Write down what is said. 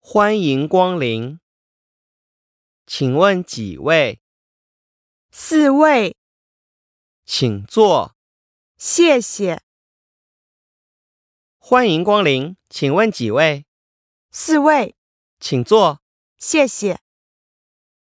欢迎光临，请问几位？ 4位， 请坐。 谢谢。 欢迎光临，请问几位？ 4位， 请坐。 谢谢。